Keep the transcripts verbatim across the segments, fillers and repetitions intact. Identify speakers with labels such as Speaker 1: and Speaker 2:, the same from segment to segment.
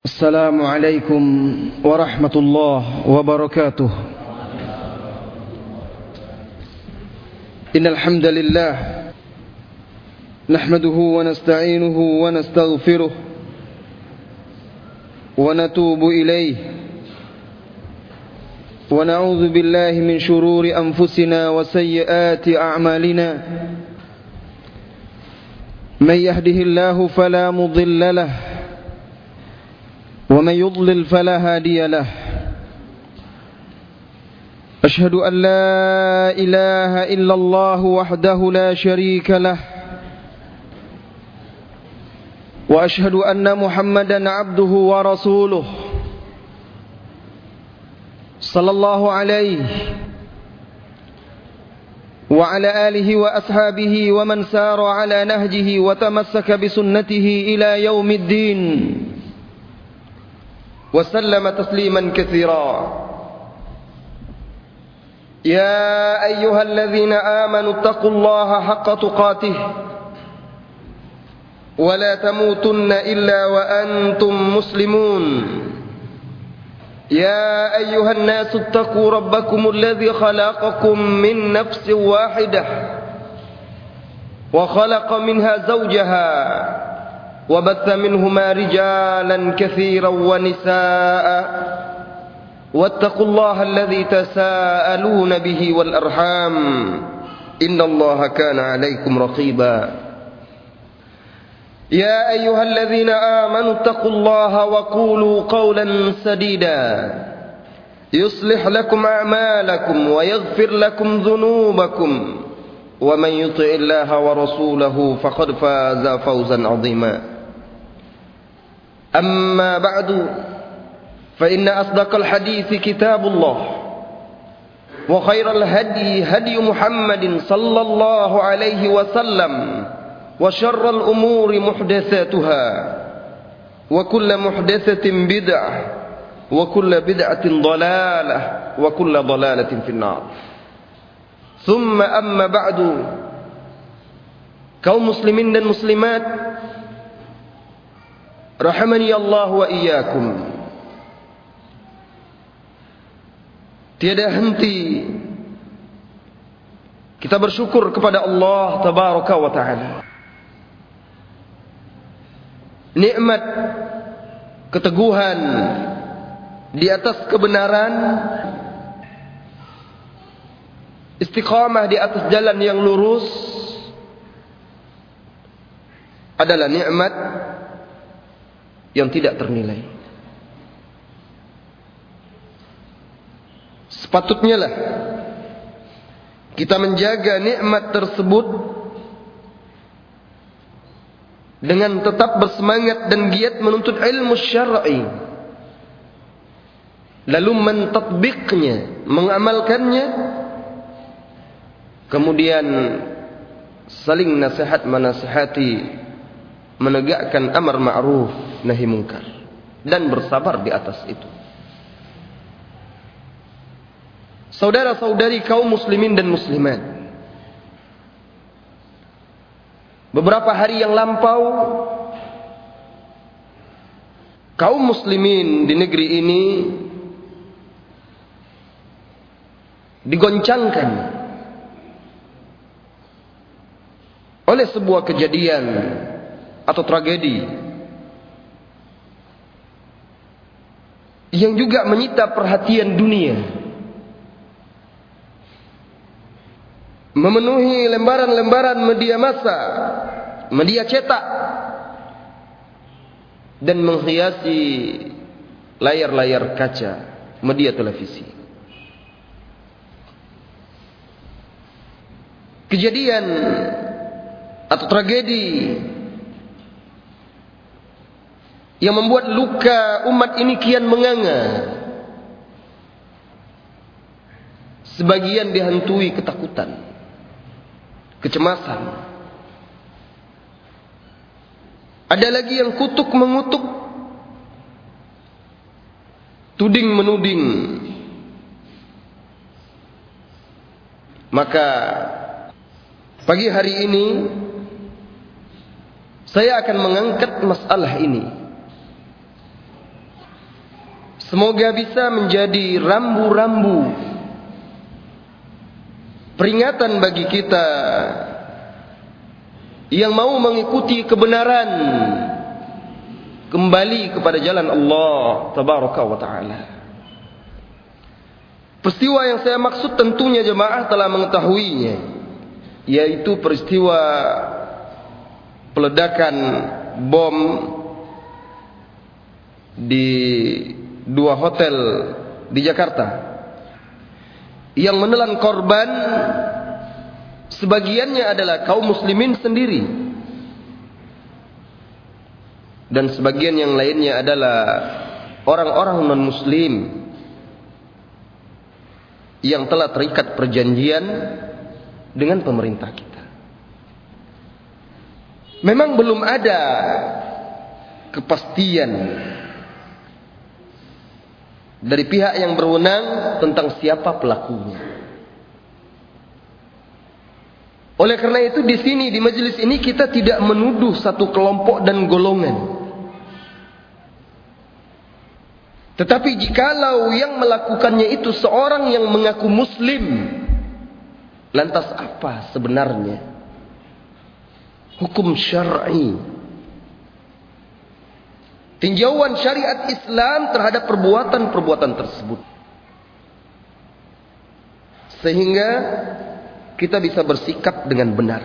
Speaker 1: السلام عليكم ورحمة الله وبركاته. إن الحمد لله نحمده ونستعينه ونستغفره ونتوب إليه ونعوذ بالله من شرور أنفسنا وسيئات أعمالنا. من يهده الله فلا مضل له ومن يضلل فلا هادي له. أشهد أن لا إله إلا الله وحده لا شريك له وأشهد أن محمدا عبده ورسوله صلى الله عليه وعلى آله وأصحابه ومن سار على نهجه وتمسك بسنته إلى يوم الدين وسلم تسليما كثيرا. يا أيها الذين آمنوا اتقوا الله حق تقاته ولا تموتن إلا وأنتم مسلمون. يا أيها الناس اتقوا ربكم الذي خلقكم من نفس واحدة وخلق منها زوجها وبث منهما رجالا كثيرا ونساء واتقوا الله الذي تساءلون به والأرحام إن الله كان عليكم رقيبا. يا أيها الذين آمنوا اتقوا الله وقولوا قولا سديدا يصلح لكم أعمالكم ويغفر لكم ذنوبكم ومن يطع الله ورسوله فقد فاز فوزا عظيما. أما بعد فإن أصدق الحديث كتاب الله وخير الهدي هدي محمد صلى الله عليه وسلم وشر الأمور محدثاتها وكل محدثة بدعة وكل بدعة ضلالة وكل ضلالة في النار. ثم أما بعد, kaum muslimin dan muslimat rahimani Allah wa iyyakum. Tiada henti kita bersyukur kepada Allah tabaraka wa taala. Nikmat keteguhan di atas kebenaran, istiqamah di atas jalan yang lurus adalah nikmat yang tidak ternilai. Sepatutnya lah kita menjaga nikmat tersebut dengan tetap bersemangat dan giat menuntut ilmu syar'i, lalu mentatbiknya, mengamalkannya, kemudian saling nasihat menasihati, menegakkan amar ma'ruf nahi munkar, dan bersabar di atas itu. Saudara-saudari kaum muslimin dan muslimat, beberapa hari yang lampau kaum muslimin di negeri ini digoncangkan oleh sebuah kejadian atau tragedi yang juga menyita perhatian dunia, memenuhi lembaran-lembaran media massa, media cetak, dan menghiasi layar-layar kaca media televisi. Kejadian atau tragedi yang membuat luka umat ini kian menganga. Sebagian dihantui ketakutan, kecemasan. Ada lagi yang kutuk mengutuk, tuding menuding. Maka pagi hari ini saya akan mengangkat masalah ini Semoga bisa menjadi rambu-rambu peringatan bagi kita yang mau mengikuti kebenaran, kembali kepada jalan Allah Tabaraka wa Ta'ala. Peristiwa yang saya maksud tentunya jemaah telah mengetahuinya, yaitu peristiwa peledakan bom di dua hotel di Jakarta yang menelan korban sebagiannya adalah kaum muslimin sendiri dan sebagian yang lainnya adalah orang-orang non-muslim yang telah terikat perjanjian dengan pemerintah kita. Memang belum ada kepastian dari pihak yang berwenang tentang siapa pelakunya. Oleh karena itu di sini di majelis ini kita tidak menuduh satu kelompok dan golongan. Tetapi jikalau yang melakukannya itu seorang yang mengaku muslim, lantas apa sebenarnya hukum syar'i, tinjauan syariat Islam terhadap perbuatan-perbuatan tersebut, sehingga kita bisa bersikap dengan benar.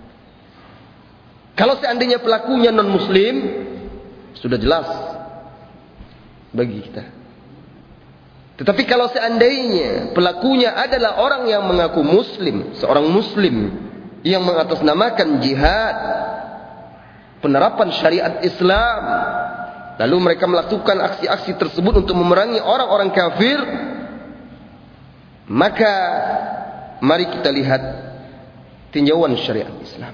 Speaker 1: Kalau seandainya pelakunya non-muslim, sudah jelas bagi kita. Tetapi kalau seandainya pelakunya adalah orang yang mengaku muslim, seorang muslim yang mengatasnamakan jihad, penerapan syariat Islam, lalu mereka melakukan aksi-aksi tersebut untuk memerangi orang-orang kafir, maka mari kita lihat tinjauan syariat Islam.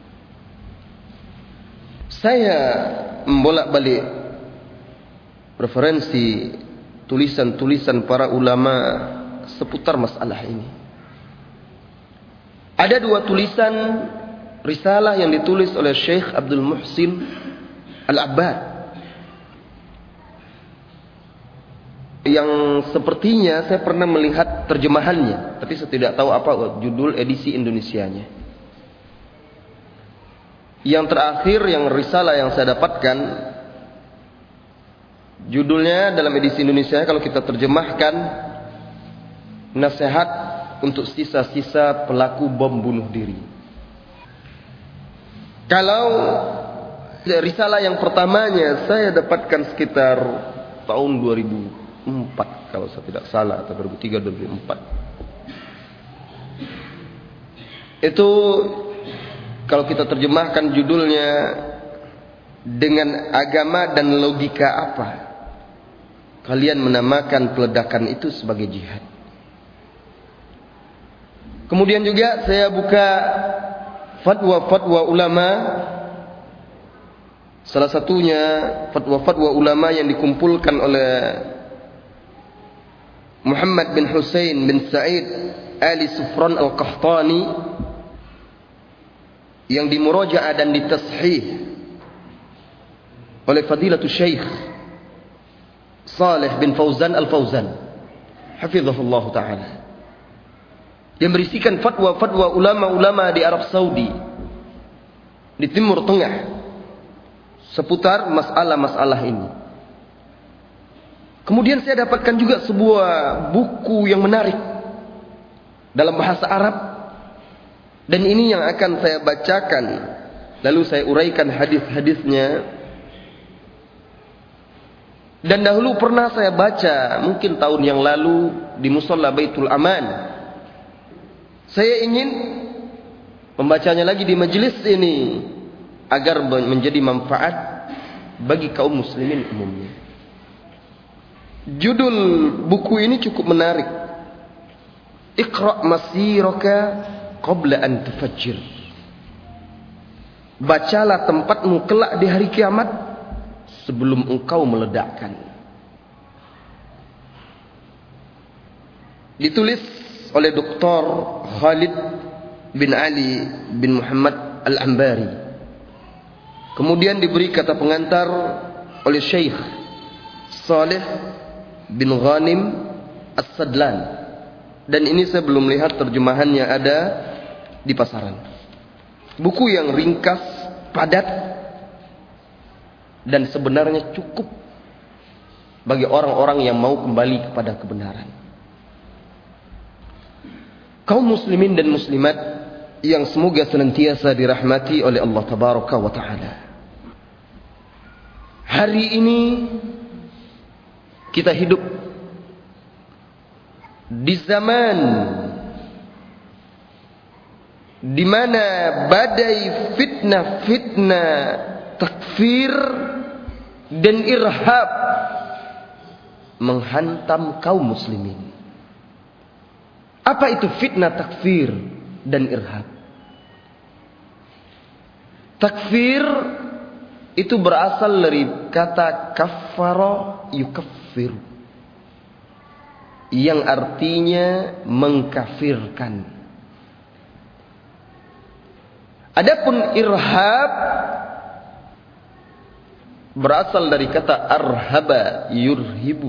Speaker 1: Saya membolak-balik referensi tulisan-tulisan para ulama seputar masalah ini. Ada dua tulisan risalah yang ditulis oleh Syekh Abdul Muhsin Al-Abbad, yang sepertinya saya pernah melihat terjemahannya, tapi saya tidak tahu apa judul edisi Indonesianya. Yang terakhir, yang risalah yang saya dapatkan, judulnya dalam edisi Indonesia kalau kita terjemahkan, nasihat untuk sisa-sisa pelaku bom bunuh diri. Kalau risalah yang pertamanya saya dapatkan sekitar tahun dua ribu empat kalau saya tidak salah, atau dua ribu tiga dua ribu empat. Itu kalau kita terjemahkan judulnya, dengan agama dan logika apa kalian menamakan peledakan itu sebagai jihad? Kemudian juga saya buka fatwa-fatwa ulama, salah satunya fatwa-fatwa ulama yang dikumpulkan oleh Muhammad bin Husain bin Sa'id Ali Sufran Al-Qahtani, yang dimurajaah dan ditashih oleh Fadilatul Syekh Saleh bin Fauzan Al-Fauzan hafizahullah ta'ala, yang berisikan fatwa-fatwa ulama-ulama di Arab Saudi, di Timur Tengah, seputar masalah-masalah ini. Kemudian saya dapatkan juga sebuah buku yang menarik dalam bahasa Arab, dan ini yang akan saya bacakan, lalu saya uraikan hadis-hadisnya. Dan dahulu pernah saya baca, mungkin tahun yang lalu, di Musalla Baitul Aman. Saya ingin membacanya lagi di majelis ini agar menjadi manfaat bagi kaum muslimin umumnya. Judul buku ini cukup menarik. Iqra' masiraka qabla an tufajjir. Bacalah tempatmu kelak di hari kiamat sebelum engkau meledakkan. Ditulis oleh Doktor Khalid bin Ali bin Muhammad Al-Ambari. Kemudian diberi kata pengantar oleh Syekh Saleh bin Ghanim As-Sadlan. Dan ini saya belum lihat terjemahannya ada di pasaran. Buku yang ringkas, padat, dan sebenarnya cukup bagi orang-orang yang mau kembali kepada kebenaran. Kaum muslimin dan muslimat yang semoga senantiasa dirahmati oleh Allah Tabaraka wa Ta'ala. Hari ini kita hidup di zaman di mana badai fitnah-fitnah takfir dan irhab menghantam kaum muslimin. Apa itu fitnah takfir dan irhab? Takfir itu berasal dari kata kaffara yukaffiru, yang artinya mengkafirkan. Adapun irhab berasal dari kata arhaba yurhibu,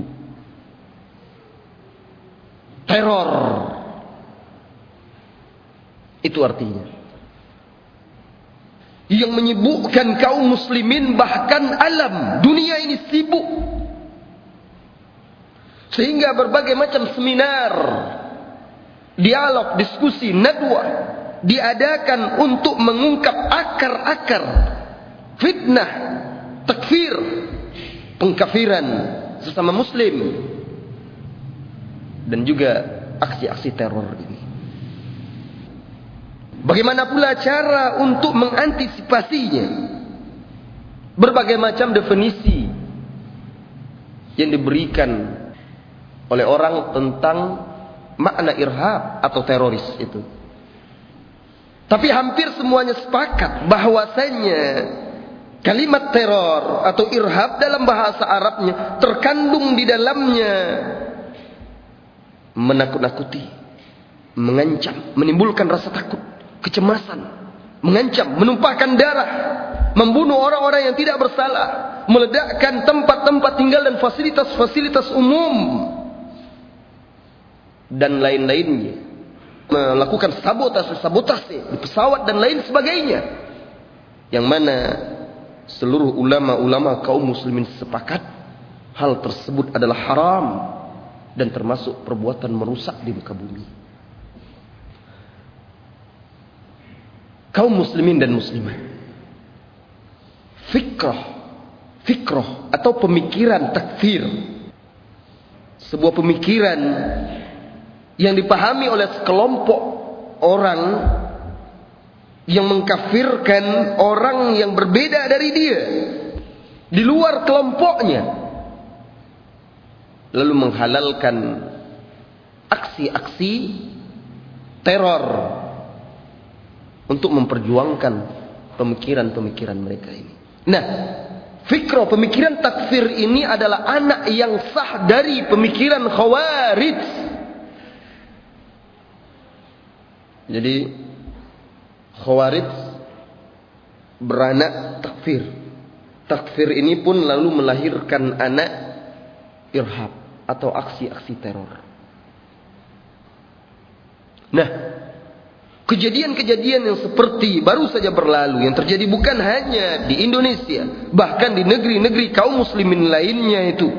Speaker 1: teror. Itu artinya. Yang menyibukkan kaum muslimin, bahkan alam dunia ini sibuk. Sehingga berbagai macam seminar, dialog, diskusi, nadwa diadakan untuk mengungkap akar-akar fitnah, takfir, pengkafiran sesama muslim, dan juga aksi-aksi teror ini. Bagaimana pula cara untuk mengantisipasinya? Berbagai macam definisi yang diberikan oleh orang tentang makna irhab atau teroris itu. Tapi hampir semuanya sepakat bahwasanya kalimat teror atau irhab dalam bahasa Arabnya terkandung di dalamnya menakut-nakuti, mengancam, menimbulkan rasa takut, kecemasan, mengancam, menumpahkan darah, membunuh orang-orang yang tidak bersalah, meledakkan tempat-tempat tinggal dan fasilitas-fasilitas umum, dan lain-lainnya, melakukan sabotase-sabotase di pesawat dan lain sebagainya, yang mana seluruh ulama-ulama kaum muslimin sepakat hal tersebut adalah haram dan termasuk perbuatan merusak di muka bumi. Kaum muslimin dan muslimat, fikrah, fikrah atau pemikiran takfir, sebuah pemikiran yang dipahami oleh sekelompok orang yang mengkafirkan orang yang berbeda dari dia, di luar kelompoknya, lalu menghalalkan aksi-aksi teror untuk memperjuangkan pemikiran-pemikiran mereka ini. Nah, fikrah pemikiran takfir ini adalah anak yang sah dari pemikiran Khawarij. Jadi Khawarij beranak takfir. Takfir ini pun lalu melahirkan anak irhab atau aksi-aksi teror. Nah, kejadian-kejadian yang seperti baru saja berlalu yang terjadi bukan hanya di Indonesia, bahkan di negeri-negeri kaum muslimin lainnya itu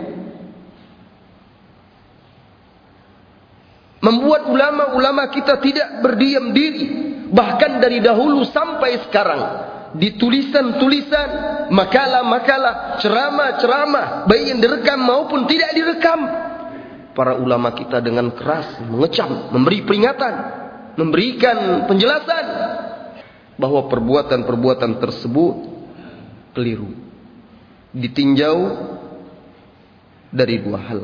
Speaker 1: membuat ulama-ulama kita tidak berdiam diri. Bahkan dari dahulu sampai sekarang, di tulisan-tulisan, makalah-makalah, ceramah-ceramah, baik yang direkam maupun tidak direkam, para ulama kita dengan keras mengecam, memberi peringatan, memberikan penjelasan bahwa perbuatan-perbuatan tersebut keliru, ditinjau dari dua hal.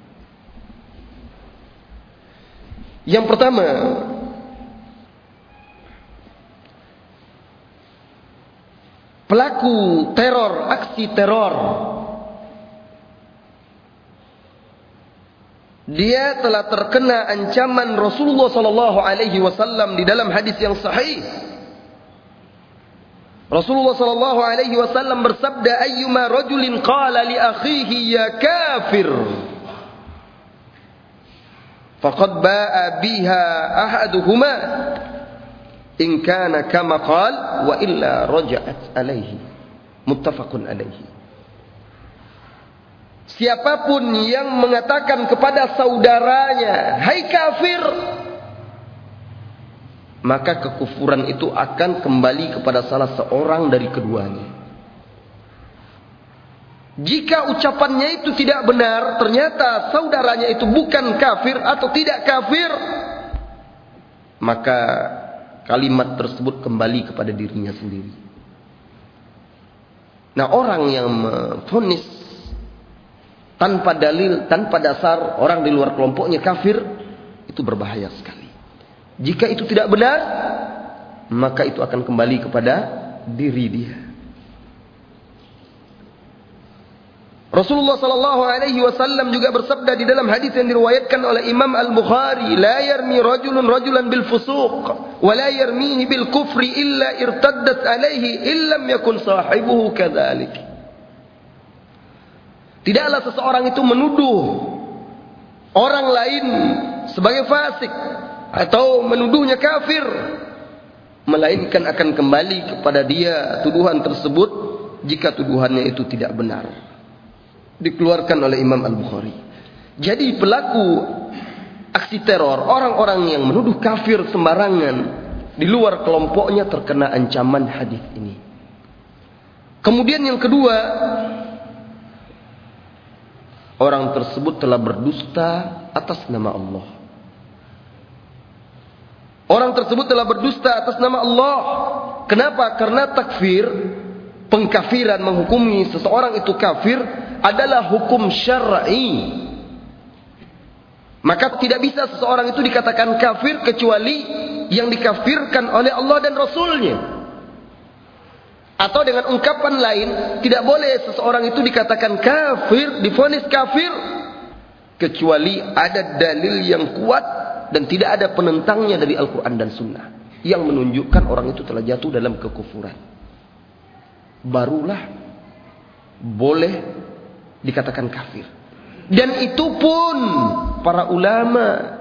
Speaker 1: Yang pertama, pelaku teror, aksi teror, dia telah terkena ancaman Rasulullah sallallahu alaihi wasallam di dalam hadis yang sahih. Rasulullah sallallahu alaihi wasallam bersabda, "Ayyuma rajulin qala li akhihi ya kafir, faqad ba'a biha ahaduhuma in kana kama qala wa illa raja'at alaihi. Muttafaqun alaihi. Siapapun yang mengatakan kepada saudaranya, "Hai kafir," maka kekufuran itu akan kembali kepada salah seorang dari keduanya. Jika ucapannya itu tidak benar, ternyata saudaranya itu bukan kafir atau tidak kafir, maka kalimat tersebut kembali kepada dirinya sendiri. Nah, orang yang memvonis tanpa dalil, tanpa dasar orang di luar kelompoknya kafir, itu berbahaya sekali. Jika itu tidak benar, maka itu akan kembali kepada diri dia. Rasulullah sallallahu alaihi wasallam juga bersabda di dalam hadis yang diriwayatkan oleh Imam Al-Bukhari, "La yarmi rajulun rajulan bil fusuq wa la yarmihi bil kufri illa irtaddat alaihi illam yakun sahibuhu kadzalik." Tidaklah seseorang itu menuduh orang lain sebagai fasik atau menuduhnya kafir, melainkan akan kembali kepada dia tuduhan tersebut jika tuduhannya itu tidak benar. Dikeluarkan oleh Imam Al-Bukhari. Jadi pelaku aksi teror, orang-orang yang menuduh kafir sembarangan di luar kelompoknya terkena ancaman hadis ini. Kemudian yang kedua, orang tersebut telah berdusta atas nama Allah. Orang tersebut telah berdusta atas nama Allah. Kenapa? Karena takfir, pengkafiran, menghukumi seseorang itu kafir adalah hukum syar'i. Maka tidak bisa seseorang itu dikatakan kafir kecuali yang dikafirkan oleh Allah dan Rasulnya. Atau dengan ungkapan lain, tidak boleh seseorang itu dikatakan kafir, divonis kafir, kecuali ada dalil yang kuat dan tidak ada penentangnya dari Al-Quran dan Sunnah yang menunjukkan orang itu telah jatuh dalam kekufuran. Barulah boleh dikatakan kafir. Dan itu pun para ulama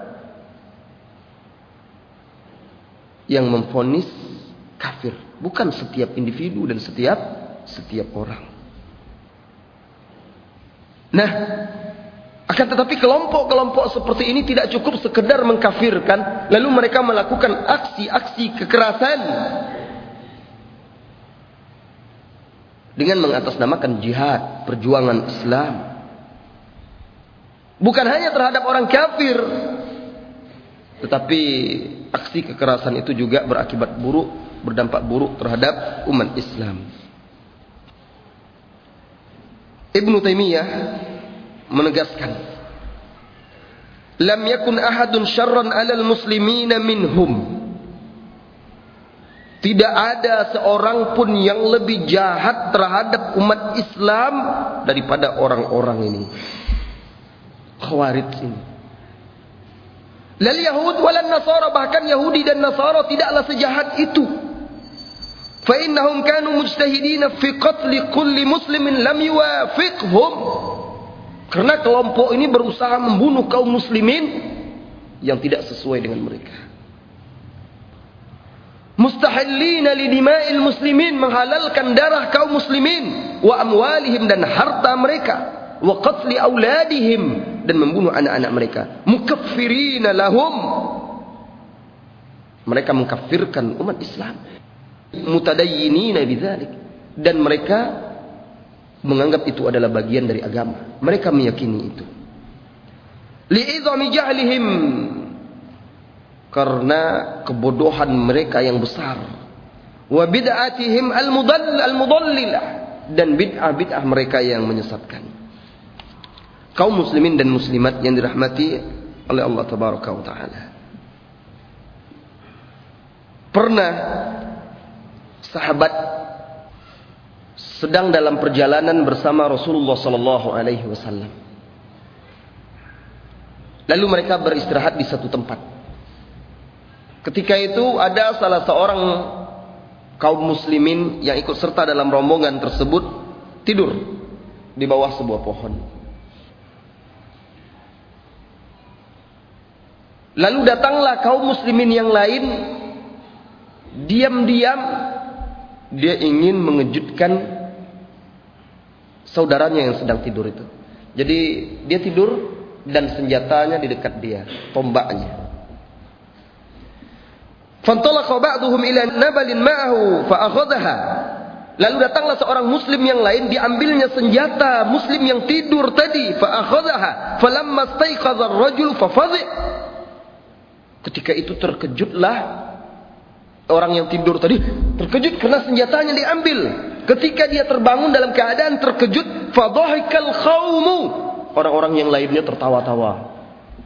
Speaker 1: yang memvonis kafir, bukan setiap individu dan setiap setiap orang. Nah, akan tetapi kelompok-kelompok seperti ini tidak cukup sekedar mengkafirkan, lalu mereka melakukan aksi-aksi kekerasan dengan mengatasnamakan jihad, perjuangan Islam. Bukan hanya terhadap orang kafir, tetapi aksi kekerasan itu juga berakibat buruk, berdampak buruk terhadap umat Islam. Ibnu Taimiyah menegaskan, "Lam yakun ahadun syarran 'alal muslimina minhum." Tidak ada seorang pun yang lebih jahat terhadap umat Islam daripada orang-orang ini. Khawarij ini. Lal Yahud walan Nasara, bahkan Yahudi dan Nasara tidaklah sejahat itu. Fa innahum kanu mujtahidina fi qatli kulli muslimin lam yuwafiqhum. Karena kelompok ini berusaha membunuh kaum muslimin yang tidak sesuai dengan mereka. Mustahillina lidima'il muslimin, menghalalkan darah kaum muslimin, wa amwalihim, dan harta mereka, wa qatli auladihim, dan membunuh anak-anak mereka. Mukaffirina lahum, mereka mengkafirkan umat Islam. Mutadayyinina bidzalik, dan mereka menganggap itu adalah bagian dari agama. Mereka meyakini itu. Li'idhami jahlihim, karena kebodohan mereka yang besar. Wa bid'atihim al-mudall al-mudallilah, dan bid'ah-bid'ah mereka yang menyesatkan. Kaum muslimin dan muslimat yang dirahmati oleh Allah tabaraka wa taala. Pernah sahabat sedang dalam perjalanan bersama Rasulullah sallallahu alaihi wasallam. Lalu mereka beristirahat di satu tempat. Ketika itu ada salah seorang kaum muslimin yang ikut serta dalam rombongan tersebut tidur di bawah sebuah pohon. Lalu datanglah kaum muslimin yang lain, diam-diam dia ingin mengejutkan saudaranya yang sedang tidur itu. Jadi dia tidur dan senjatanya di dekat dia, tombaknya. Fantalaqa ba'duhum ila nabalin ma'ahu fa'akhadhaha. Lalu datanglah seorang muslim yang lain, diambilnya senjata muslim yang tidur tadi, fa'akhadhaha falamma staiqadha ar-rajul fafadhi'. Ketika itu terkejutlah orang yang tidur tadi, terkejut karena senjatanya diambil. Ketika dia terbangun dalam keadaan terkejut, fadhahikal qaumu. Orang-orang yang lainnya tertawa-tawa.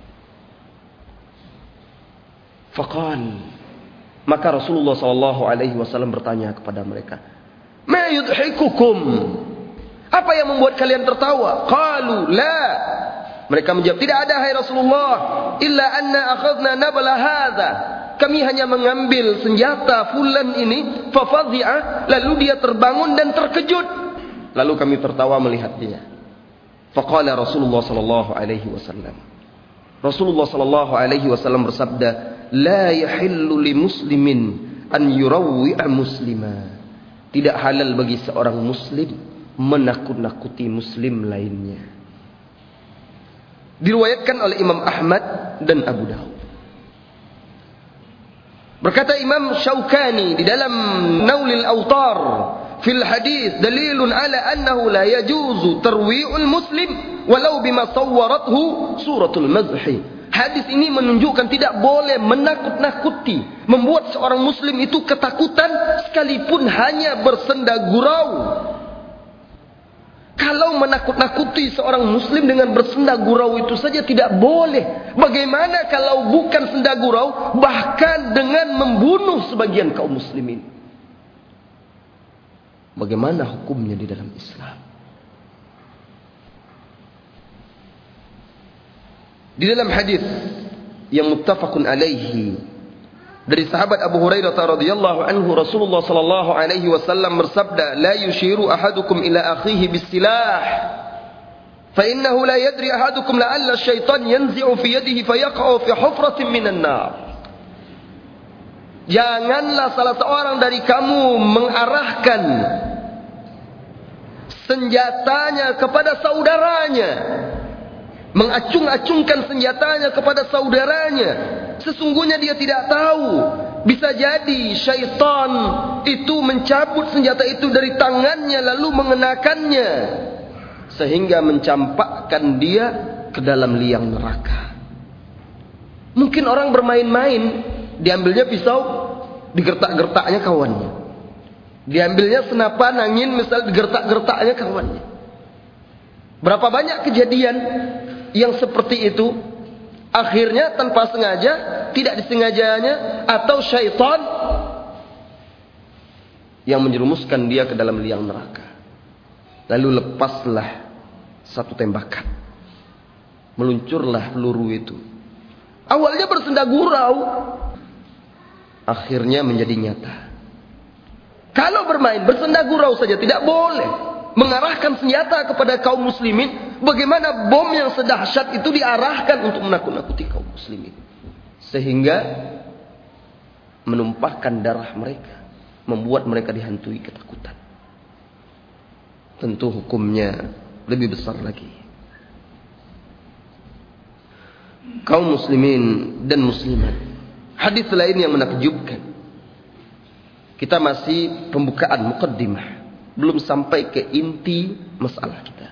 Speaker 1: Faqal, maka Rasulullah sallallahu alaihi wasallam bertanya kepada mereka, "Ma yudhikukum?" Apa yang membuat kalian tertawa? Qalu la. Mereka menjawab, "Tidak ada hai Rasulullah, illa anna akhadna nabla hadza." Kami hanya mengambil senjata fulan ini, fa fadhi'a, lalu dia terbangun dan terkejut. Lalu kami tertawa melihat dia. Faqala Rasulullah sallallahu alaihi wasallam. Rasulullah sallallahu alaihi wasallam bersabda, "La yahillu li muslimin an yurawwi'a muslima." Tidak halal bagi seorang muslim menakut-nakuti muslim lainnya. Diriwayatkan oleh Imam Ahmad dan Abu Dawud. Berkata Imam Syaukani di dalam Naulil Awtar fil hadis, dalilun ala annahu la yajuzu tarwi'ul muslim walau bima sawwarathu suratul mazhi. Hadis ini menunjukkan tidak boleh menakut-nakuti, membuat seorang muslim itu ketakutan sekalipun hanya bersenda gurau. Kalau menakut-nakuti seorang muslim dengan bersenda gurau itu saja tidak boleh. Bagaimana kalau bukan senda gurau, bahkan dengan membunuh sebagian kaum muslimin? Bagaimana hukumnya di dalam Islam? Di dalam hadis yang muttafaqun alaihi dari sahabat Abu Hurairah radhiyallahu anhu, Rasulullah sallallahu alaihi wasallam bersabda, "La yushiru ahadukum ila akhihi bisilah, fa innahu la yadri ahadukum la'alla syaitan yanzi'u fi yadihi fayaqa'u fi hufratin minan nar." Janganlah salah seorang dari kamu mengarahkan senjatanya kepada saudaranya, mengacung-acungkan senjatanya kepada saudaranya. Sesungguhnya dia tidak tahu, bisa jadi syaitan itu mencabut senjata itu dari tangannya lalu mengenakannya sehingga mencampakkan dia ke dalam liang neraka. Mungkin orang bermain-main, diambilnya pisau, digertak-gertaknya kawannya. Diambilnya senapan angin, misal digertak-gertaknya kawannya. Berapa banyak kejadian yang seperti itu, akhirnya tanpa sengaja, tidak disengajanya, atau syaitan yang menjerumuskan dia ke dalam liang neraka. Lalu lepaslah satu tembakan, meluncurlah peluru itu. Awalnya bersenda gurau, akhirnya menjadi nyata. Kalau bermain bersenda gurau saja tidak boleh. Mengarahkan senjata kepada kaum muslimin, bagaimana bom yang sedahsyat itu diarahkan untuk menakut-nakuti kaum muslimin, sehingga menumpahkan darah mereka, membuat mereka dihantui ketakutan. Tentu hukumnya lebih besar lagi. Kaum muslimin dan muslimat, hadis lain yang menakjubkan. Kita masih pembukaan muqaddimah, belum sampai ke inti masalah kita.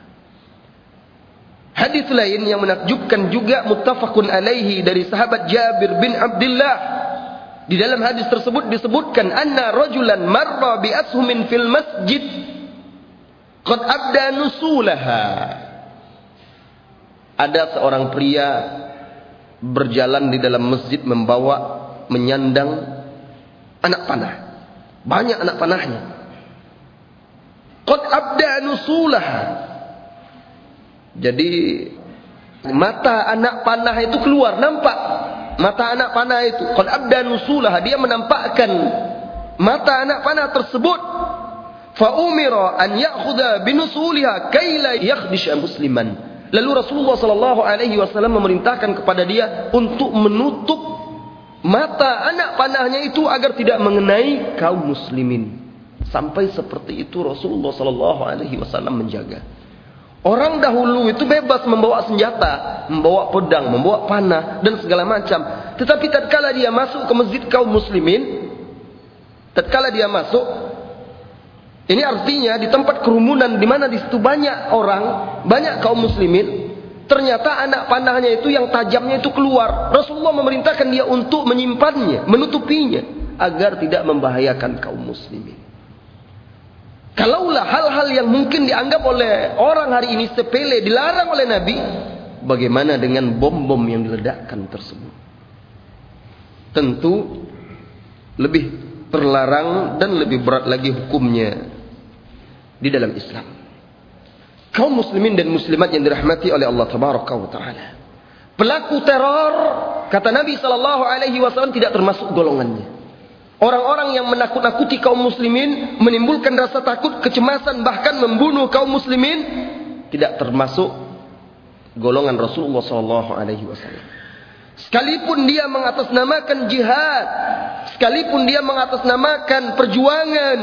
Speaker 1: Hadis lain yang menakjubkan juga muttafaqun alaihi dari sahabat Jabir bin Abdullah. Di dalam hadis tersebut disebutkan anna rajulan marra bi ashumin fil masjid qad abda nusulaha. Ada seorang pria berjalan di dalam masjid membawa, menyandang anak panah. Banyak anak panahnya. Qad abda nusulaha. Jadi mata anak panah itu keluar, nampak mata anak panah itu. Qad abda nusulaha, dia menampakkan mata anak panah tersebut. Fa umira an ya'khudha binusuliha kay la yakhdisha musliman. Lalu Rasulullah sallallahu alaihi wasallam memerintahkan kepada dia untuk menutup mata anak panahnya itu agar tidak mengenai kaum muslimin. Sampai seperti itu Rasulullah sallallahu alaihi wasallam menjaga. Orang dahulu itu bebas membawa senjata, membawa pedang, membawa panah dan segala macam. Tetapi tatkala dia masuk ke masjid kaum muslimin, tatkala dia masuk, ini artinya di tempat kerumunan di mana di situ banyak orang, banyak kaum muslimin, ternyata anak panahnya itu yang tajamnya itu keluar. Rasulullah memerintahkan dia untuk menyimpannya, menutupinya agar tidak membahayakan kaum muslimin. Kalaulah hal-hal yang mungkin dianggap oleh orang hari ini sepele dilarang oleh Nabi, bagaimana dengan bom-bom yang diledakkan tersebut? Tentu lebih terlarang dan lebih berat lagi hukumnya di dalam Islam. Kaum muslimin dan muslimat yang dirahmati oleh Allah Tabaraka wa Ta'ala, pelaku teror, kata Nabi sallallahu alaihi wasallam, tidak termasuk golongannya. Orang-orang yang menakut-nakuti kaum muslimin, menimbulkan rasa takut, kecemasan, bahkan membunuh kaum muslimin, tidak termasuk golongan Rasulullah sallallahu alaihi wasallam. Sekalipun dia mengatasnamakan jihad, sekalipun dia mengatasnamakan perjuangan.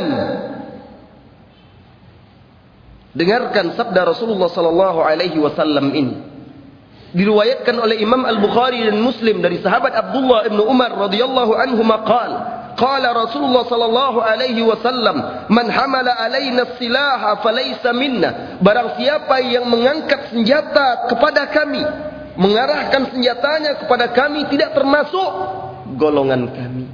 Speaker 1: Dengarkan sabda Rasulullah sallallahu alaihi wasallam ini. Diriwayatkan oleh Imam Al-Bukhari dan Muslim dari sahabat Abdullah bin Umar radhiyallahu anhu maqal, qala Rasulullah sallallahu alaihi wasallam, man hamala alaina as-silaha falaysa minna. Barang siapa yang mengangkat senjata kepada kami, mengarahkan senjatanya kepada kami, tidak termasuk golongan kami.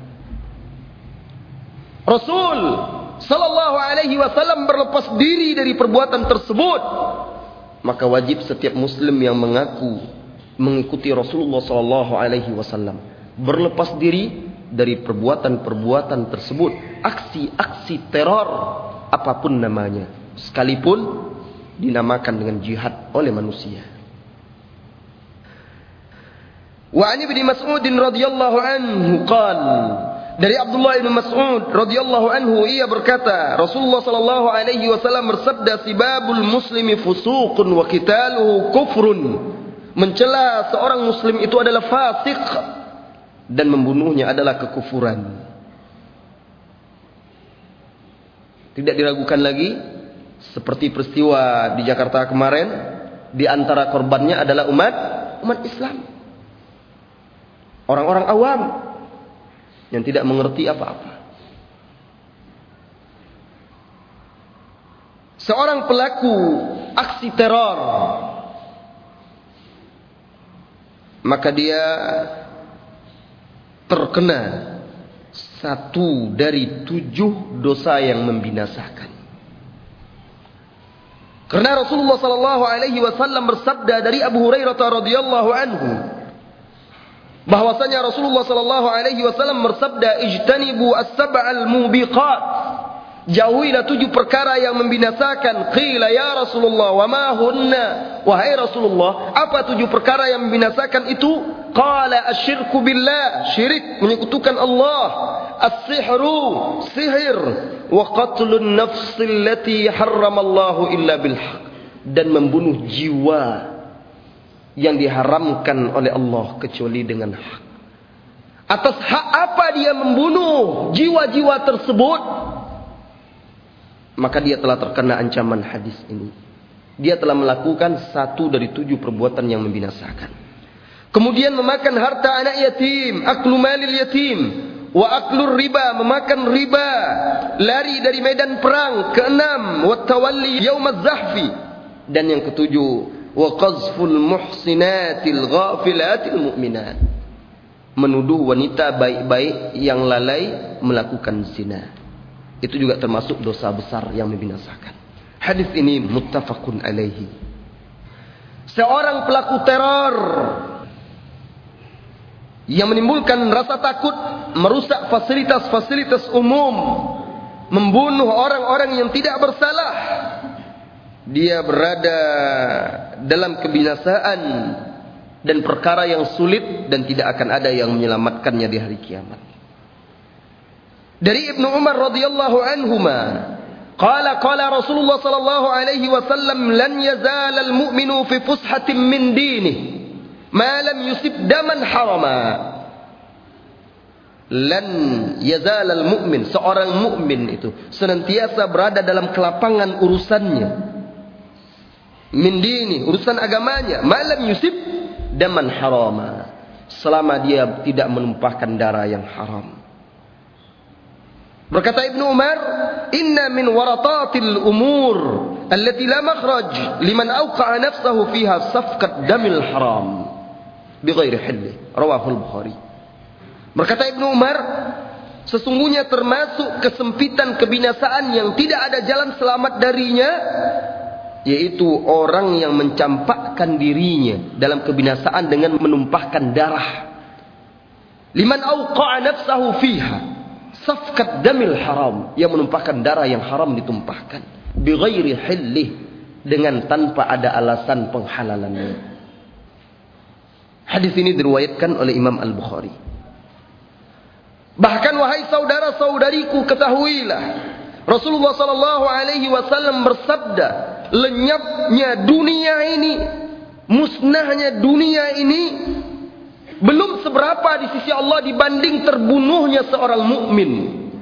Speaker 1: Rasul sallallahu alaihi wasallam berlepas diri dari perbuatan tersebut. Maka wajib setiap muslim yang mengaku mengikuti Rasulullah sallallahu alaihi wasallam berlepas diri dari perbuatan-perbuatan tersebut, aksi-aksi teror apapun namanya, sekalipun dinamakan dengan jihad oleh manusia. Wa an Ibnu Mas'ud radhiyallahu anhu qala, dari Abdullah bin Mas'ud radhiyallahu anhu, ia berkata, Rasulullah sallallahu alaihi wasallam bersabda, sibabul muslimi fusuqun wa qitaluhu kufrun. Mencela seorang muslim itu adalah fasik dan membunuhnya adalah kekufuran. Tidak diragukan lagi, seperti peristiwa di Jakarta kemarin, di antara korbannya adalah umat umat Islam. Orang-orang awam yang tidak mengerti apa-apa. Seorang pelaku aksi teror, maka dia terkena satu dari tujuh dosa yang membinasakan. Karena Rasulullah sallallahu alaihi wasallam bersabda dari Abu Hurairah radhiyallahu anhu, bahwasanya Rasulullah sallallahu alaihi wasallam bersabda, ijtanibu as-sab'al mubiqat, jauhilah tujuh perkara yang membinasakan. Qila ya Rasulullah wa ma hunna, wahai Rasulullah, apa tujuh perkara yang membinasakan itu? Qala asyirku billah, syirik, menyekutukan Allah, as-sihru, sihir, wa qatlun nafsi allati harramallahu illa bil haq, dan membunuh jiwa yang diharamkan oleh Allah kecuali dengan hak. Atas hak apa dia membunuh jiwa-jiwa tersebut? Maka dia telah terkena ancaman hadis ini. Dia telah melakukan satu dari tujuh perbuatan yang membinasakan. Kemudian memakan harta anak yatim, aklu malil yatim, wa aklur riba, memakan riba, lari dari medan perang. Keenam, wa tawalli yaumaz zahfi, dan yang ketujuh, wa qazful muhsinatil ghafilatil mu'minat, menuduh wanita baik-baik yang lalai melakukan zina. Itu juga termasuk dosa besar yang membinasakan. Hadis ini muttafaqun alaihi. Seorang pelaku teror yang menimbulkan rasa takut, merusak fasilitas-fasilitas umum, membunuh orang-orang yang tidak bersalah, dia berada dalam kebinasaan dan perkara yang sulit, dan tidak akan ada yang menyelamatkannya di hari kiamat. Dari Ibnu Umar radhiyallahu anhuma, Qala qala Rasulullah sallallahu alaihi wasallam lan yazal al-mu'minu fi fushatin min dinihi ma lam yusib daman harama. Lan yazal al-mu'min, seorang mukmin itu senantiasa berada dalam kelapangan urusannya. Min dini, urusan agamanya, ma lam yusib daman harama. Selama dia tidak menumpahkan darah yang haram. Berkata Ibnu Umar, "Inna min waratatil umur allati la makhraj liman awqa'a nafsahu fiha safqat damil haram bighairi hilli." Rawahul Bukhari. Berkata Ibnu Umar, sesungguhnya termasuk kesempitan kebinasaan yang tidak ada jalan selamat darinya, yaitu orang yang mencampakkan dirinya dalam kebinasaan dengan menumpahkan darah. Liman awqa'a nafsahu fiha safkat damil haram, yang menumpahkan darah yang haram ditumpahkan bighairi hillih, dengan tanpa ada alasan penghalalannya. Hadis ini diriwayatkan oleh Imam Al-Bukhari. Bahkan wahai saudara-saudariku, ketahuilah Rasulullah sallallahu alaihi wasallam bersabda, lenyapnya dunia ini, musnahnya dunia ini belum seberapa di sisi Allah dibanding terbunuhnya seorang mukmin.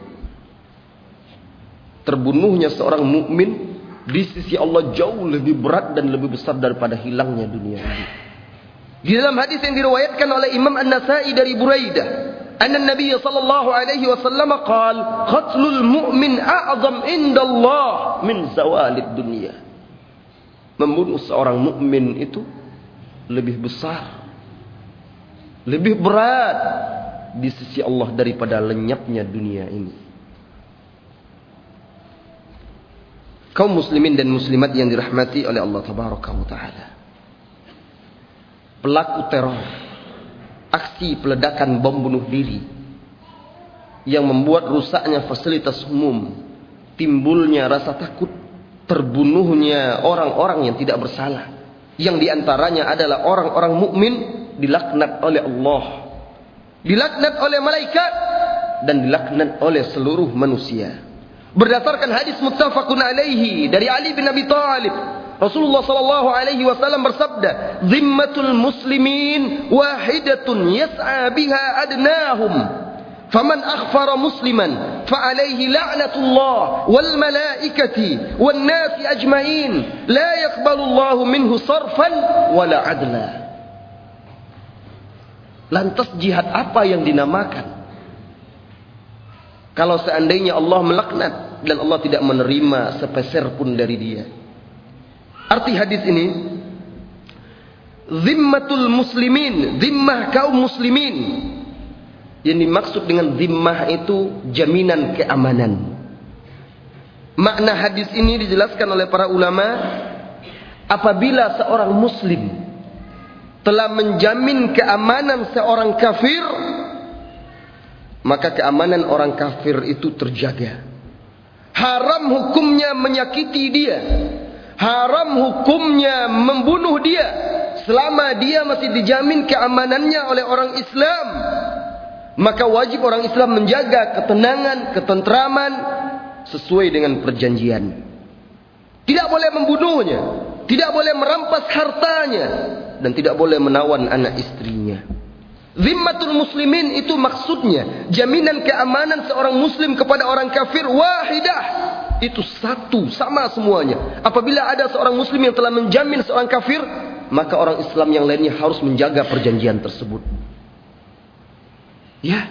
Speaker 1: Terbunuhnya seorang mukmin di sisi Allah jauh lebih berat dan lebih besar daripada hilangnya dunia ini. Di dalam hadis yang diriwayatkan oleh Imam An-Nasa'i dari Buraidah, anna Nabi sallallahu alaihi wasallam qala, qatlul mu'min a'zam indallah min zawalid dunya. Membunuh seorang mukmin itu lebih besar, lebih berat di sisi Allah daripada lenyapnya dunia ini. Kaum muslimin dan muslimat yang dirahmati oleh Allah tabaraka wa taala, pelaku teror, aksi peledakan bom bunuh diri yang membuat rusaknya fasilitas umum, timbulnya rasa takut, terbunuhnya orang-orang yang tidak bersalah, yang diantaranya adalah orang-orang mukmin, dilaknat oleh Allah, dilaknat oleh malaikat, dan dilaknat oleh seluruh manusia. Berdasarkan hadis muttafaqun alaihi dari Ali bin Abi Thalib, Rasulullah sallallahu alaihi wasallam bersabda, "Zimmatul muslimin wahidatun yas'a biha adnahum, faman akhfara musliman fa alaihi la'natullah wal malaikati wan nasi ajma'in, la yaqbalu Allahu minhu sarfan wala adla." Lantas jihad apa yang dinamakan kalau seandainya Allah melaknat dan Allah tidak menerima sepeser pun dari dia? Arti hadis ini, zimmatul muslimin, zimmah kaum muslimin. Yang dimaksud dengan zimmah itu jaminan keamanan. Makna hadis ini dijelaskan oleh para ulama, apabila seorang muslim telah menjamin keamanan seorang kafir, maka keamanan orang kafir itu terjaga. Haram hukumnya menyakiti dia, haram hukumnya membunuh dia, selama dia masih dijamin keamanannya oleh orang Islam. Maka wajib orang Islam menjaga ketenangan, ketentraman sesuai dengan perjanjian. Tidak boleh membunuhnya, tidak boleh merampas hartanya, dan tidak boleh menawan anak istrinya. Zimmatul muslimin itu maksudnya jaminan keamanan seorang muslim kepada orang kafir wahidah. Itu satu, sama semuanya. Apabila ada seorang muslim yang telah menjamin seorang kafir, maka orang Islam yang lainnya harus menjaga perjanjian tersebut. Ya.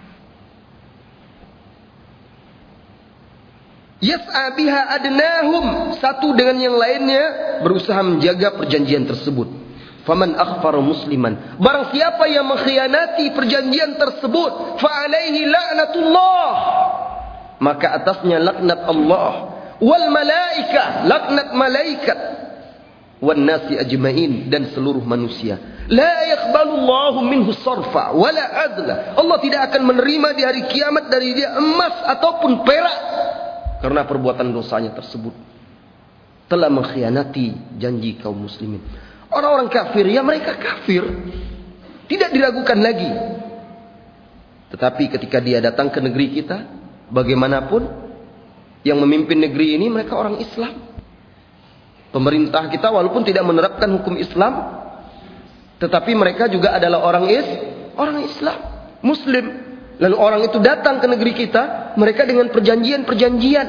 Speaker 1: Yas'a biha adnahum, satu dengan yang lainnya berusaha menjaga perjanjian tersebut. Faman akhfara musliman, barang siapa yang mengkhianati perjanjian tersebut, fa alaihi la'natullah, maka atasnya laknat Allah, wal malaikah, laknat malaikat, wan nasi ajma'in, dan seluruh manusia. La yaqbalullahu minhu sarfa wala adla, Allah tidak akan menerima di hari kiamat dari dia emas ataupun perak, karena perbuatan dosanya tersebut telah mengkhianati janji kaum muslimin. Orang-orang kafir, ya mereka kafir, tidak diragukan lagi. Tetapi ketika dia datang ke negeri kita, bagaimanapun Yang memimpin negeri ini mereka orang Islam. Pemerintah kita walaupun tidak menerapkan hukum Islam, tetapi mereka juga adalah orang is, orang Islam, Muslim. Lalu orang itu datang ke negeri kita, mereka dengan perjanjian-perjanjian.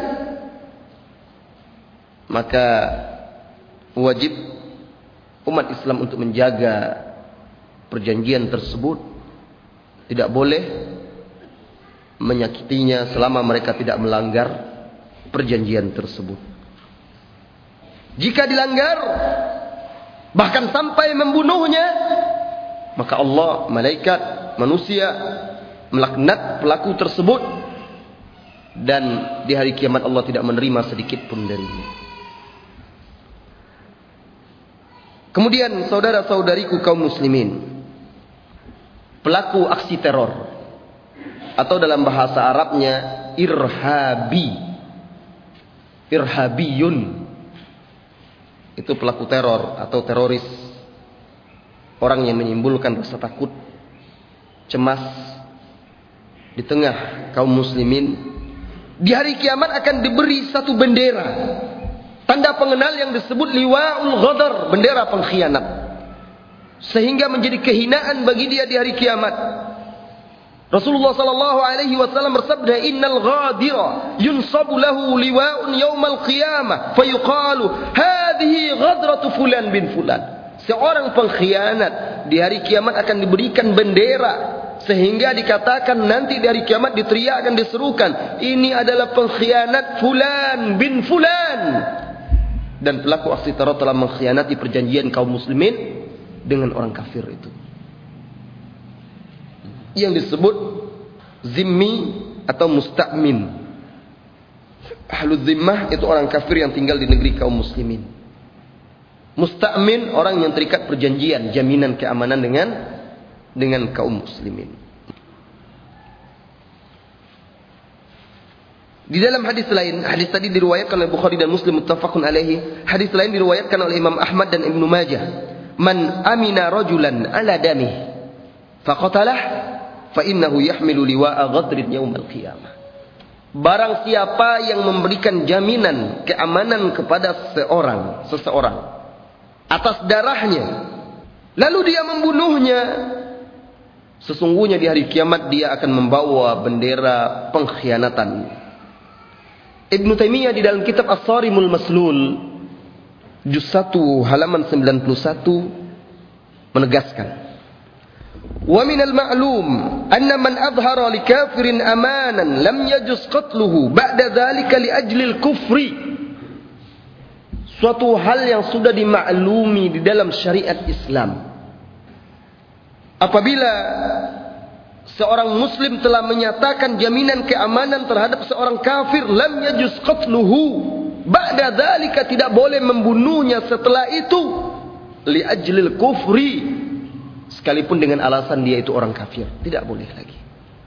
Speaker 1: Maka wajib umat Islam untuk menjaga perjanjian tersebut. Tidak boleh menyakitinya selama mereka tidak melanggar perjanjian tersebut. Jika dilanggar, bahkan sampai membunuhnya, maka Allah, malaikat, manusia melaknat pelaku tersebut, dan di hari kiamat Allah tidak menerima sedikit pun darinya. Kemudian saudara-saudariku kaum muslimin, pelaku aksi teror atau dalam bahasa Arabnya irhabi, irhabiyun, itu pelaku teror atau teroris, orang yang menimbulkan rasa takut, cemas di tengah kaum muslimin. Di hari kiamat akan diberi satu bendera, tanda pengenal yang disebut liwa'ul ghadar, bendera pengkhianat, sehingga menjadi kehinaan bagi dia di hari kiamat. Rasulullah sallallahu alaihi wasallam bersabda, "Innal ghadira yunsabu lahu liwa'un yaumal qiyamah fayuqalu hadhihi ghadratu fulan bin fulan." Seorang pengkhianat di hari kiamat akan diberikan bendera, sehingga dikatakan nanti di hari kiamat diteriakkan, diserukan, ini adalah pengkhianat fulan bin fulan. Dan pelaku aksi teror telah mengkhianati perjanjian kaum muslimin dengan orang kafir itu, yang disebut zimmi atau musta'min. Ahlul zimmah itu orang kafir yang tinggal di negeri kaum muslimin. Musta'min orang yang terikat perjanjian, jaminan keamanan dengan dengan kaum muslimin. Di dalam hadis lain, hadis tadi diriwayatkan oleh Bukhari dan Muslim muttafaqun alaihi. Hadis lain diriwayatkan oleh Imam Ahmad dan Ibnu Majah. Man amina rajulan ala damih faqatalah fa innahu yahmilu liwa'a ghadrin yaumal qiyamah. Barang siapa yang memberikan jaminan keamanan kepada seorang, seseorang atas darahnya, lalu dia membunuhnya, sesungguhnya di hari kiamat dia akan membawa bendera pengkhianatan. Ibnu Taimiyah di dalam kitab As-Sarimul Maslul juz satu halaman sembilan puluh satu menegaskan, wa minal ma'lum anna man adhara li kafirin amanan lam yajuz qatluhu ba'da dhalika li ajlil kufri. Suatu hal yang sudah dimaklumi di dalam syariat Islam, apabila seorang muslim telah menyatakan jaminan keamanan terhadap seorang kafir, lam yajuz qatluhu ba'da dzalika, tidak boleh membunuhnya setelah itu, li ajlil kufri, sekalipun dengan alasan dia itu orang kafir, tidak boleh lagi.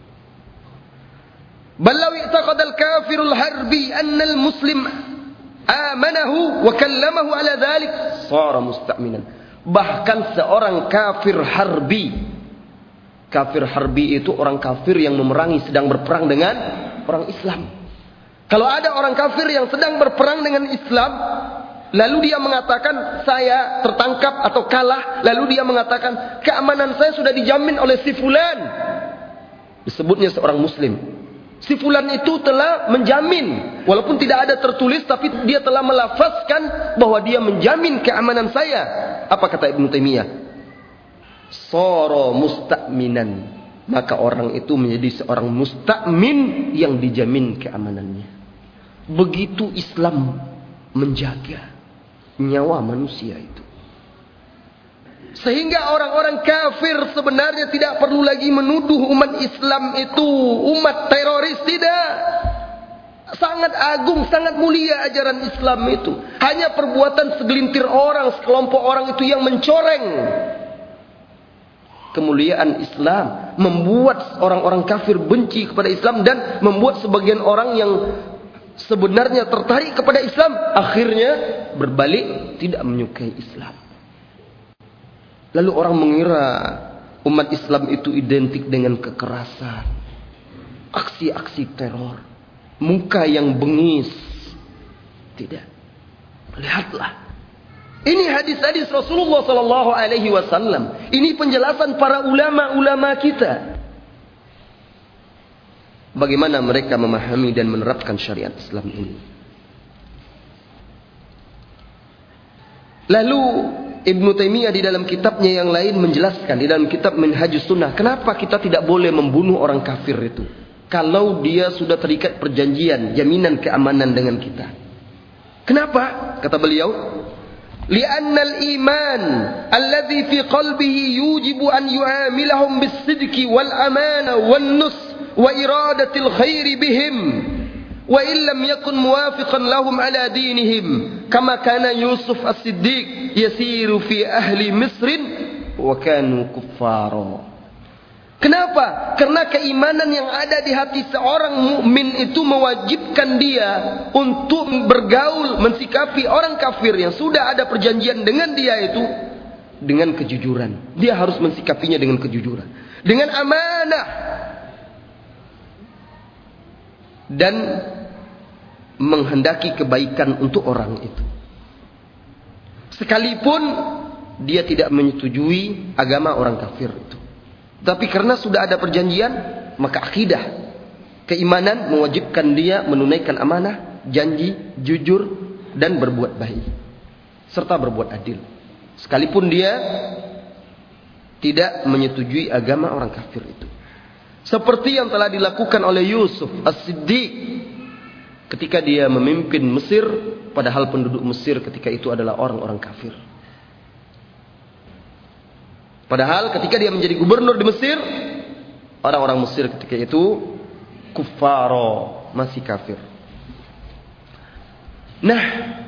Speaker 1: Bal law i'taqada al-kafirul harbi anna al-muslim amanahu wa kallamahu ala dhalik sara musta'minan. Bahkan seorang kafir harbi, kafir harbi itu orang kafir yang memerangi, sedang berperang dengan orang Islam. Kalau ada orang kafir yang sedang berperang dengan Islam, lalu dia mengatakan saya tertangkap atau kalah, lalu dia mengatakan keamanan saya sudah dijamin oleh si fulan, disebutnya seorang muslim. Si fulan itu telah menjamin, walaupun tidak ada tertulis, tapi dia telah melafazkan bahwa dia menjamin keamanan saya. Apa kata Ibnu Taimiyah? Sara musta'minan, maka orang itu menjadi seorang musta'min yang dijamin keamanannya. Begitu Islam menjaga nyawa manusia itu, sehingga orang-orang kafir sebenarnya tidak perlu lagi menuduh umat Islam itu umat teroris. Tidak. Sangat agung, sangat mulia ajaran Islam itu. Hanya perbuatan segelintir orang, sekelompok orang itu yang mencoreng kemuliaan Islam, membuat orang-orang kafir benci kepada Islam, dan membuat sebagian orang yang sebenarnya tertarik kepada Islam akhirnya berbalik tidak menyukai Islam. Lalu orang mengira umat Islam itu identik dengan kekerasan, aksi-aksi teror. muka yang bengis. Tidak. Lihatlah. Ini hadis-hadis Rasulullah sallallahu alaihi wasallam. Ini penjelasan para ulama-ulama kita. Bagaimana mereka memahami dan menerapkan syariat Islam ini. Lalu Ibnu Taimiyah di dalam kitabnya yang lain menjelaskan, di dalam kitab Minhajus Sunnah, kenapa kita tidak boleh membunuh orang kafir itu kalau dia sudah terikat perjanjian, jaminan keamanan dengan kita. Kenapa? Kata beliau, li'anna al-iman alladhi fi qalbihi yujibu an yu'amilahum bis-sidqi wal amana wan nus wa iradatil khairi bihim wa illam yakun muwafiqan lahum ala dinihim kama kana Yusuf as-Siddiq yasiru fi ahli Misrin wa kanu kuffara. Kenapa? Karena keimanan yang ada di hati seorang mukmin itu mewajibkan dia untuk bergaul, mensikapi orang kafir yang sudah ada perjanjian dengan dia itu dengan kejujuran. Dia harus mensikapinya dengan kejujuran, dengan amanah, dan menghendaki kebaikan untuk orang itu. Sekalipun dia tidak menyetujui agama orang kafir itu. Tapi karena sudah ada perjanjian, maka akidah, keimanan mewajibkan dia menunaikan amanah, janji, jujur, dan berbuat baik. Serta berbuat adil. Sekalipun dia tidak menyetujui agama orang kafir itu. Seperti yang telah dilakukan oleh Yusuf as-Siddiq ketika dia memimpin Mesir, padahal penduduk Mesir ketika itu adalah orang-orang kafir. Padahal ketika dia menjadi gubernur di Mesir, orang-orang Mesir ketika itu kuffaro, masih kafir. Nah,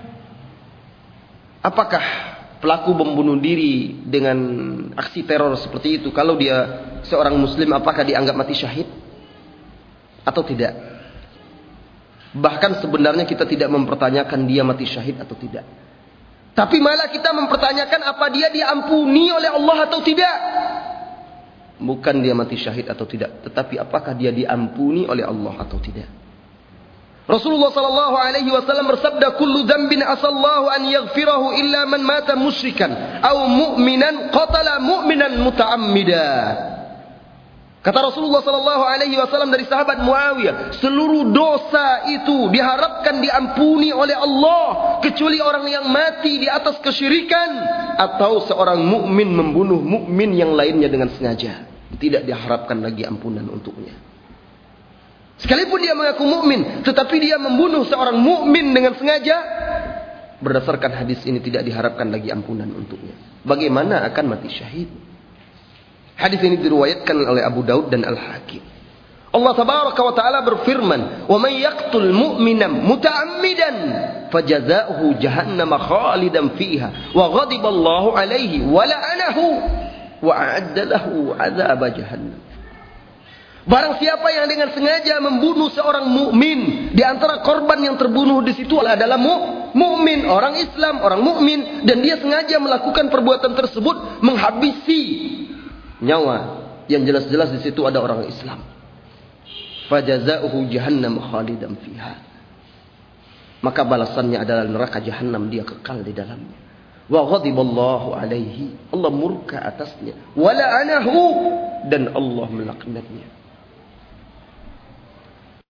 Speaker 1: apakah pelaku membunuh diri dengan aksi teror seperti itu, kalau dia seorang muslim, apakah dianggap mati syahid atau tidak? Bahkan sebenarnya kita tidak mempertanyakan dia mati syahid atau tidak. Tapi malah kita mempertanyakan apa dia diampuni oleh Allah atau tidak. Bukan dia mati syahid atau tidak, tetapi apakah dia diampuni oleh Allah atau tidak. Rasulullah sallallahu alaihi wasallam bersabda, kullu dzambin asallahu an yaghfirahu illa man mata musyrikan aw mu'minan qatala mu'minan muta'ammida. Kata Rasulullah sallallahu alaihi wasallam dari sahabat Muawiyah, seluruh dosa itu diharapkan diampuni oleh Allah kecuali orang yang mati di atas kesyirikan atau seorang mukmin membunuh mukmin yang lainnya dengan sengaja. Tidak diharapkan lagi ampunan untuknya. Sekalipun dia mengaku mukmin, tetapi dia membunuh seorang mukmin dengan sengaja, berdasarkan hadis ini tidak diharapkan lagi ampunan untuknya. Bagaimana akan mati syahid? Hadis ini diriwayatkan oleh Abu Daud dan Al-Hakim. Allah tabaraka wa taala berfirman, "Wa may yaqtul mu'mina muta'ammidan fajazaohu jahannam khalidan fiha wa ghadiballahu alaihi wa la'anahu wa a'adda lahu 'adzab jahannam." Barang siapa yang dengan sengaja membunuh seorang mukmin, di antara korban yang terbunuh di situ adalah mukmin, orang Islam, orang mukmin, dan dia sengaja melakukan perbuatan tersebut menghabisi nyawa, yang jelas-jelas di situ ada orang Islam. Fajazaohu jahannam khalidan fiha. Maka balasannya adalah neraka jahanam, dia kekal di dalamnya. Wa ghadiballahu alaihi, Allah murka atasnya. Wa la'anahu, dan Allah melaknatnya.